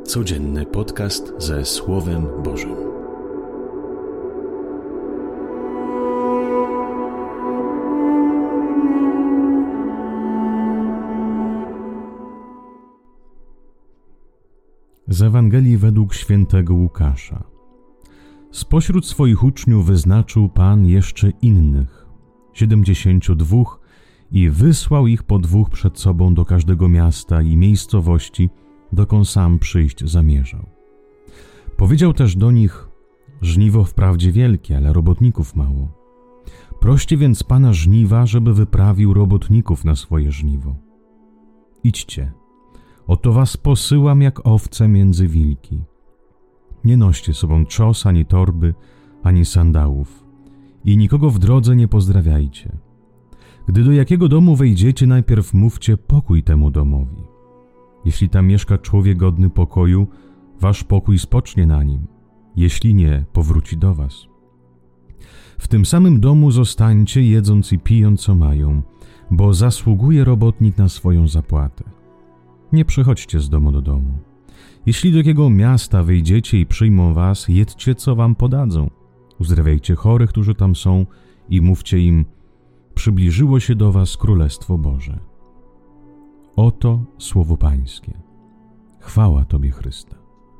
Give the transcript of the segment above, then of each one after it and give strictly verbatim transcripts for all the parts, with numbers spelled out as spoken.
Codzienny podcast ze Słowem Bożym. Z Ewangelii według świętego Łukasza. Spośród swoich uczniów wyznaczył Pan jeszcze innych, siedemdziesięciu dwóch, i wysłał ich po dwóch przed sobą do każdego miasta i miejscowości, dokąd sam przyjść zamierzał. Powiedział też do nich: żniwo wprawdzie wielkie, ale robotników mało. Proście więc Pana żniwa, żeby wyprawił robotników na swoje żniwo. Idźcie, oto was posyłam jak owce między wilki. Nie noście sobą trzos, ani torby, ani sandałów i nikogo w drodze nie pozdrawiajcie. Gdy do jakiego domu wejdziecie, najpierw mówcie pokój temu domowi. Jeśli tam mieszka człowiek godny pokoju, wasz pokój spocznie na nim. Jeśli nie, powróci do was. W tym samym domu zostańcie, jedząc i pijąc co mają, bo zasługuje robotnik na swoją zapłatę. Nie przechodźcie z domu do domu. Jeśli do jakiego miasta wyjdziecie i przyjmą was, jedzcie co wam podadzą. Uzdrawiajcie chorych, którzy tam są, i mówcie im: przybliżyło się do was Królestwo Boże. Oto słowo Pańskie. Chwała Tobie, Chryste.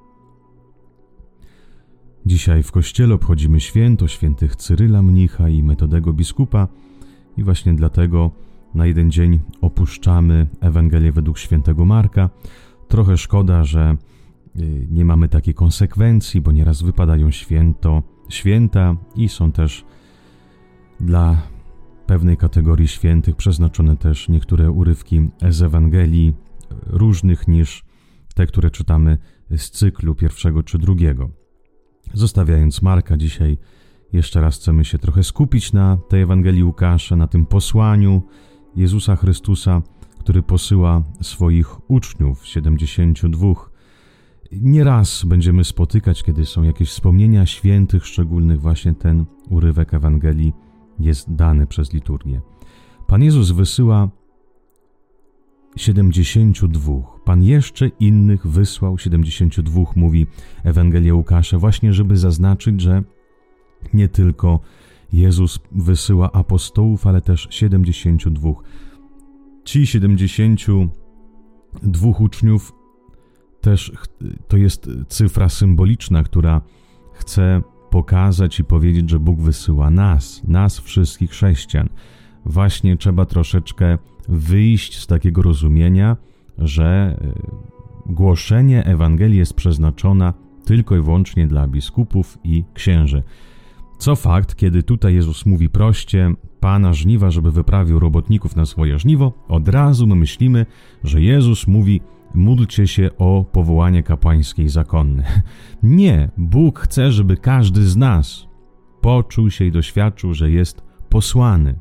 Dzisiaj w Kościele obchodzimy święto świętych Cyryla mnicha i Metodego biskupa i właśnie dlatego na jeden dzień opuszczamy Ewangelię według świętego Marka. Trochę szkoda, że nie mamy takiej konsekwencji, bo nieraz wypadają święto, święta i są też dla pewnej kategorii świętych przeznaczone też niektóre urywki z Ewangelii różnych niż te, które czytamy z cyklu pierwszego czy drugiego. Zostawiając Marka, dzisiaj jeszcze raz chcemy się trochę skupić na tej Ewangelii Łukasza, na tym posłaniu Jezusa Chrystusa, który posyła swoich uczniów, siedemdziesięciu dwóch. Nieraz będziemy spotykać, kiedy są jakieś wspomnienia świętych szczególnych, właśnie ten urywek Ewangelii jest dany przez liturgię. Pan Jezus wysyła siedemdziesięciu dwóch. Pan jeszcze innych wysłał siedemdziesięciu dwóch, mówi Ewangelia Łukasza, właśnie żeby zaznaczyć, że nie tylko Jezus wysyła apostołów, ale też siedemdziesięciu dwóch. Ci siedemdziesięciu dwóch uczniów też to jest cyfra symboliczna, która chce pokazać i powiedzieć, że Bóg wysyła nas, nas wszystkich chrześcijan. Właśnie trzeba troszeczkę wyjść z takiego rozumienia, że głoszenie Ewangelii jest przeznaczona tylko i wyłącznie dla biskupów i księży. Co fakt, kiedy tutaj Jezus mówi proście Pana żniwa, żeby wyprawił robotników na swoje żniwo, od razu my myślimy, że Jezus mówi: módlcie się o powołanie kapłańskie i zakonne. Nie, Bóg chce, żeby każdy z nas poczuł się i doświadczył, że jest posłany.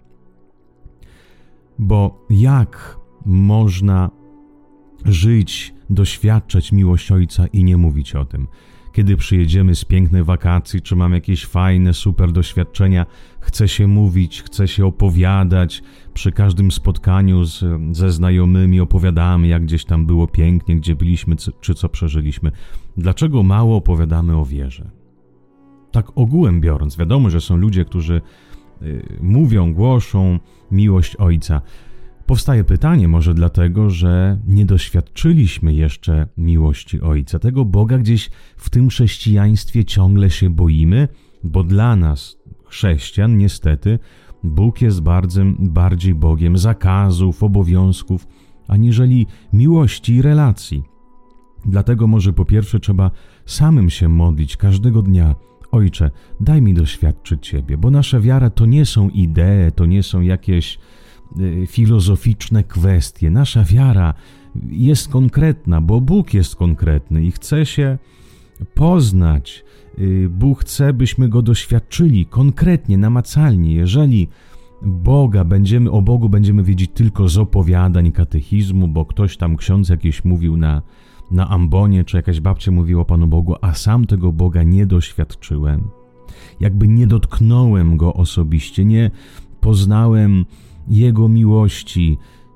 Bo jak można żyć, doświadczać miłość Ojca i nie mówić o tym? Kiedy przyjedziemy z pięknej wakacji, czy mamy jakieś fajne, super doświadczenia, chce się mówić, chce się opowiadać. Przy każdym spotkaniu z, ze znajomymi opowiadamy, jak gdzieś tam było pięknie, gdzie byliśmy, czy co przeżyliśmy. Dlaczego mało opowiadamy o wierze? Tak ogółem biorąc, wiadomo, że są ludzie, którzy y, mówią, głoszą miłość Ojca. Powstaje pytanie, może dlatego, że nie doświadczyliśmy jeszcze miłości Ojca. Tego Boga gdzieś w tym chrześcijaństwie ciągle się boimy, bo dla nas, chrześcijan, niestety, Bóg jest bardzo, bardziej Bogiem zakazów, obowiązków, aniżeli miłości i relacji. Dlatego może po pierwsze trzeba samym się modlić każdego dnia: Ojcze, daj mi doświadczyć Ciebie, bo nasza wiara to nie są idee, to nie są jakieś filozoficzne kwestie. Nasza wiara jest konkretna, bo Bóg jest konkretny i chce się poznać. Bóg chce, byśmy Go doświadczyli konkretnie, namacalnie. Jeżeli Boga będziemy, o Bogu będziemy wiedzieć tylko z opowiadań, katechizmu, bo ktoś tam, ksiądz jakiś mówił na, na ambonie, czy jakaś babcia mówiła o Panu Bogu, a sam tego Boga nie doświadczyłem. Jakby nie dotknąłem Go osobiście, nie poznałem Jego miłości,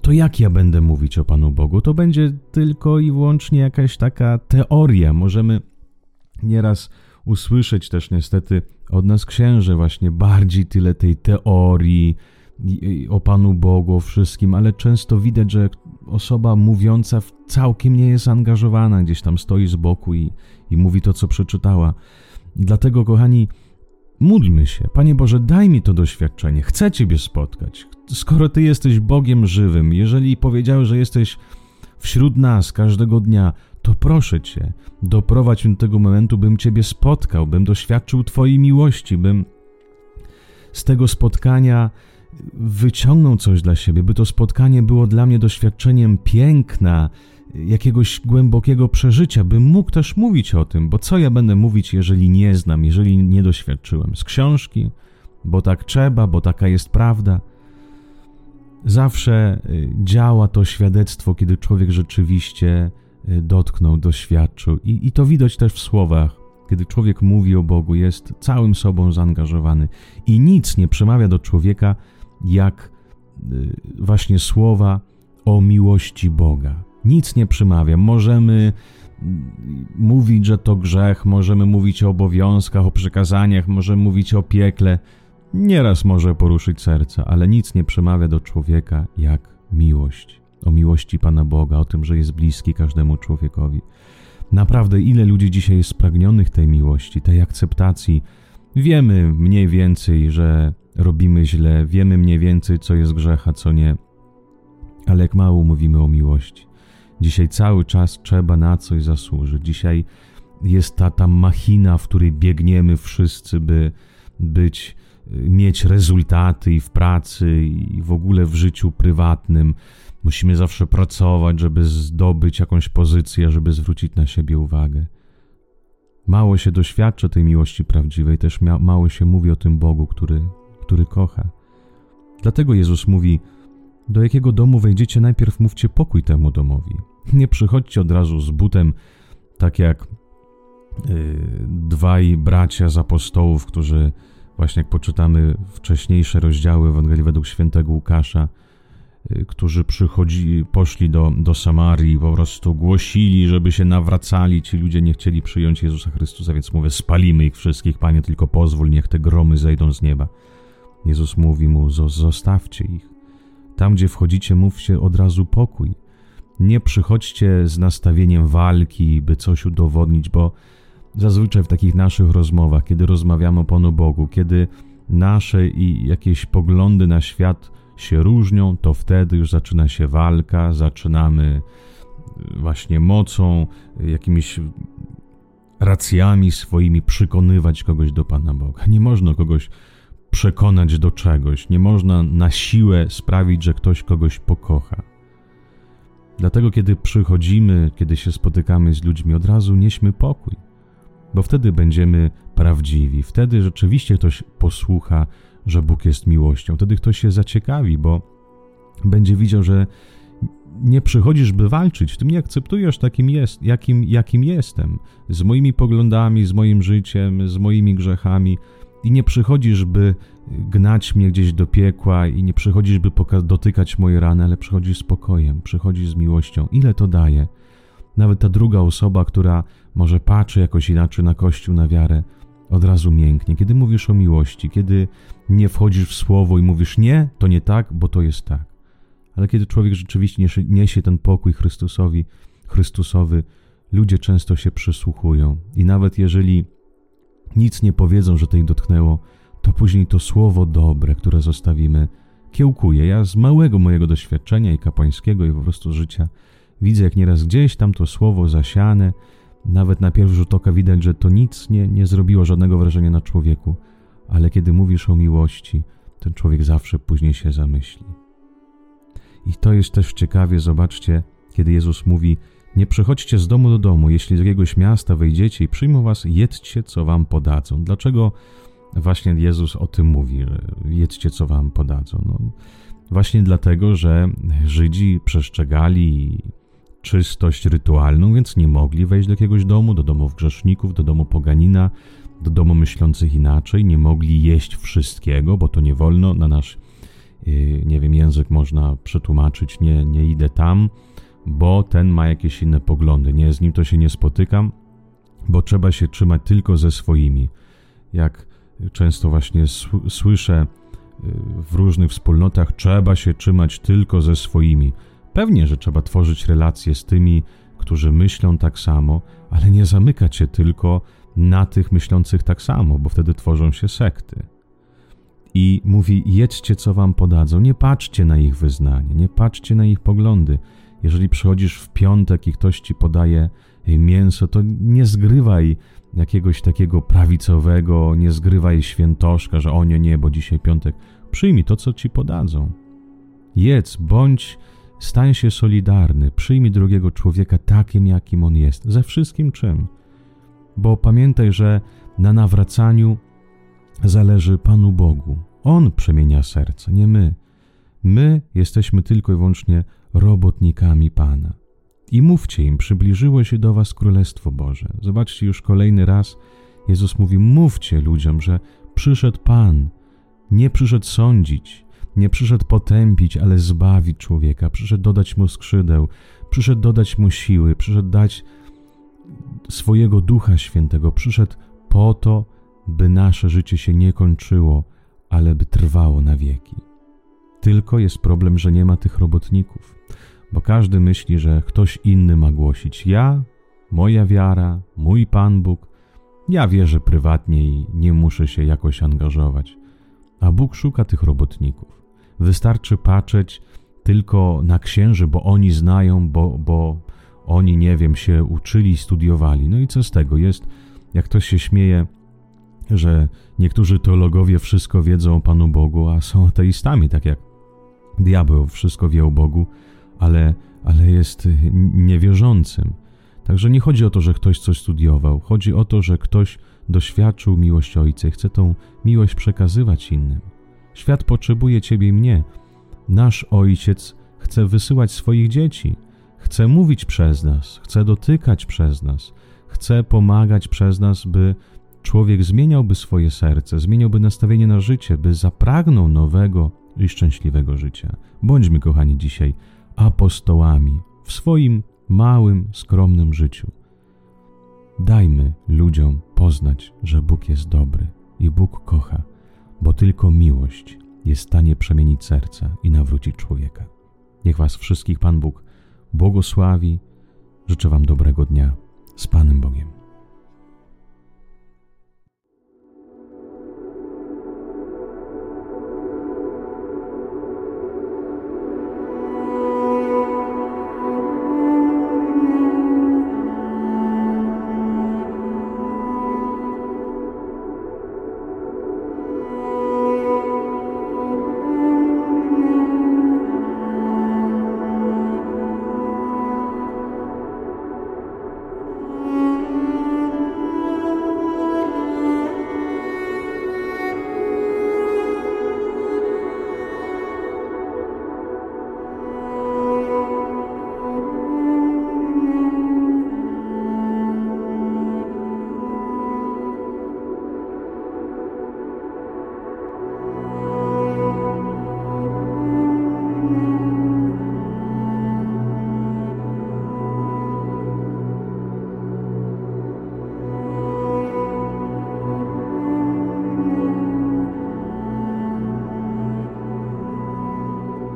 to jak ja będę mówić o Panu Bogu? To będzie tylko i wyłącznie jakaś taka teoria. Możemy nieraz usłyszeć też niestety od nas księży właśnie bardziej tyle tej teorii o Panu Bogu, o wszystkim, ale często widać, że osoba mówiąca całkiem nie jest zaangażowana, gdzieś tam stoi z boku i, i mówi to, co przeczytała. Dlatego, kochani, módlmy się. Panie Boże, daj mi to doświadczenie. Chcę Ciebie spotkać. Skoro Ty jesteś Bogiem żywym, jeżeli powiedziałeś, że jesteś wśród nas każdego dnia, to proszę Cię, doprowadź mnie do tego momentu, bym Ciebie spotkał, bym doświadczył Twojej miłości, bym z tego spotkania wyciągnął coś dla siebie, by to spotkanie było dla mnie doświadczeniem piękna, jakiegoś głębokiego przeżycia, bym mógł też mówić o tym, bo co ja będę mówić, jeżeli nie znam, jeżeli nie doświadczyłem? Z książki, bo tak trzeba, bo taka jest prawda. Zawsze działa to świadectwo, kiedy człowiek rzeczywiście dotknął, doświadczył i, i to widać też w słowach. Kiedy człowiek mówi o Bogu, jest całym sobą zaangażowany i nic nie przemawia do człowieka jak właśnie słowa o miłości Boga. Nic nie przemawia. Możemy mówić, że to grzech, możemy mówić o obowiązkach, o przykazaniach, możemy mówić o piekle. Nieraz może poruszyć serce, ale nic nie przemawia do człowieka jak miłość. O miłości Pana Boga, o tym, że jest bliski każdemu człowiekowi. Naprawdę, ile ludzi dzisiaj jest spragnionych tej miłości, tej akceptacji. Wiemy mniej więcej, że robimy źle, wiemy mniej więcej, co jest grzech, a co nie. Ale jak mało mówimy o miłości. Dzisiaj cały czas trzeba na coś zasłużyć. Dzisiaj jest ta, ta machina, w której biegniemy wszyscy, by być, mieć rezultaty i w pracy, i w ogóle w życiu prywatnym. Musimy zawsze pracować, żeby zdobyć jakąś pozycję, żeby zwrócić na siebie uwagę. Mało się doświadcza tej miłości prawdziwej, też mia- mało się mówi o tym Bogu, który, który kocha. Dlatego Jezus mówi, do jakiego domu wejdziecie, najpierw mówcie pokój temu domowi. Nie przychodźcie od razu z butem, tak jak yy, dwaj bracia z apostołów, którzy, właśnie jak poczytamy wcześniejsze rozdziały Ewangelii według świętego Łukasza, którzy przychodzi, poszli do, do Samarii, po prostu głosili, żeby się nawracali. Ci ludzie nie chcieli przyjąć Jezusa Chrystusa, więc mówię, spalimy ich wszystkich, Panie, tylko pozwól, niech te gromy zejdą z nieba. Jezus mówi mu, zostawcie ich. Tam, gdzie wchodzicie, mówcie od razu pokój. Nie przychodźcie z nastawieniem walki, by coś udowodnić, bo zazwyczaj w takich naszych rozmowach, kiedy rozmawiamy o Panu Bogu, kiedy nasze i jakieś poglądy na świat się różnią, to wtedy już zaczyna się walka, zaczynamy właśnie mocą, jakimiś racjami swoimi przekonywać kogoś do Pana Boga. Nie można kogoś przekonać do czegoś, nie można na siłę sprawić, że ktoś kogoś pokocha. Dlatego kiedy przychodzimy, kiedy się spotykamy z ludźmi, od razu nieśmy pokój, bo wtedy będziemy prawdziwi, wtedy rzeczywiście ktoś posłucha, że Bóg jest miłością. Wtedy ktoś się zaciekawi, bo będzie widział, że nie przychodzisz, by walczyć. Ty mnie akceptujesz takim, jest, jakim, jakim jestem. Z moimi poglądami, z moim życiem, z moimi grzechami. I nie przychodzisz, by gnać mnie gdzieś do piekła i nie przychodzisz, by poka- dotykać moje rany, ale przychodzisz z pokojem, przychodzisz z miłością. Ile to daje? Nawet ta druga osoba, która może patrzy jakoś inaczej na Kościół, na wiarę, od razu mięknie. Kiedy mówisz o miłości, kiedy nie wchodzisz w słowo i mówisz nie, to nie tak, bo to jest tak. Ale kiedy człowiek rzeczywiście niesie, niesie ten pokój Chrystusowi, Chrystusowy, ludzie często się przysłuchują. I nawet jeżeli nic nie powiedzą, że to ich dotknęło, to później to słowo dobre, które zostawimy, kiełkuje. Ja z małego mojego doświadczenia i kapłańskiego, i po prostu życia widzę, jak nieraz gdzieś tam to słowo zasiane, nawet na pierwszy rzut oka widać, że to nic nie, nie zrobiło żadnego wrażenia na człowieku, ale kiedy mówisz o miłości, ten człowiek zawsze później się zamyśli. I to jest też ciekawie, zobaczcie, kiedy Jezus mówi, nie przechodźcie z domu do domu, jeśli z jakiegoś miasta wejdziecie i przyjmą was, jedzcie, co wam podadzą. Dlaczego właśnie Jezus o tym mówi, że jedzcie, co wam podadzą? No, właśnie dlatego, że Żydzi przestrzegali czystość rytualną, więc nie mogli wejść do jakiegoś domu, do domów grzeszników, do domu poganina, do domu myślących inaczej, nie mogli jeść wszystkiego, bo to nie wolno na nasz nie wiem, język można przetłumaczyć, nie, nie idę tam, bo ten ma jakieś inne poglądy, nie, z nim to się nie spotykam, bo trzeba się trzymać tylko ze swoimi. Jak często właśnie słyszę w różnych wspólnotach, trzeba się trzymać tylko ze swoimi. Pewnie, że trzeba tworzyć relacje z tymi, którzy myślą tak samo, ale nie zamykać się tylko na tych myślących tak samo, bo wtedy tworzą się sekty. I mówi, jedźcie, co wam podadzą, nie patrzcie na ich wyznanie, nie patrzcie na ich poglądy. Jeżeli przychodzisz w piątek i ktoś ci podaje mięso, to nie zgrywaj jakiegoś takiego prawicowego, nie zgrywaj świętoszka, że o nie, nie, bo dzisiaj piątek. Przyjmij to, co ci podadzą. Jedz, bądź, stań się solidarny, przyjmij drugiego człowieka takim, jakim on jest, ze wszystkim czym. Bo pamiętaj, że na nawracaniu zależy Panu Bogu. On przemienia serce, nie my. My jesteśmy tylko i wyłącznie robotnikami Pana. I mówcie im, przybliżyło się do was Królestwo Boże. Zobaczcie, już kolejny raz Jezus mówi, mówcie ludziom, że przyszedł Pan, nie przyszedł sądzić, nie przyszedł potępić, ale zbawić człowieka, przyszedł dodać mu skrzydeł, przyszedł dodać mu siły, przyszedł dać swojego Ducha Świętego, przyszedł po to, by nasze życie się nie kończyło, ale by trwało na wieki. Tylko jest problem, że nie ma tych robotników, bo każdy myśli, że ktoś inny ma głosić. Ja, moja wiara, mój Pan Bóg, ja wierzę prywatnie i nie muszę się jakoś angażować. A Bóg szuka tych robotników. Wystarczy patrzeć tylko na księży, bo oni znają, bo, bo oni, nie wiem, się uczyli, studiowali. No i co z tego? Jest, jak ktoś się śmieje, że niektórzy teologowie wszystko wiedzą o Panu Bogu, a są ateistami, tak jak diabeł wszystko wie o Bogu, ale, ale jest niewierzącym. Także nie chodzi o to, że ktoś coś studiował. Chodzi o to, że ktoś doświadczył miłości Ojca i chce tą miłość przekazywać innym. Świat potrzebuje Ciebie i mnie. Nasz Ojciec chce wysyłać swoich dzieci. Chce mówić przez nas, chce dotykać przez nas, chce pomagać przez nas, by człowiek zmieniałby swoje serce, zmieniałby nastawienie na życie, by zapragnął nowego i szczęśliwego życia. Bądźmy, kochani, dzisiaj apostołami w swoim małym, skromnym życiu. Dajmy ludziom poznać, że Bóg jest dobry i Bóg kocha, bo tylko miłość jest w stanie przemienić serca i nawrócić człowieka. Niech was wszystkich Pan Bóg błogosławi. Życzę wam dobrego dnia. Z Panem Bogiem.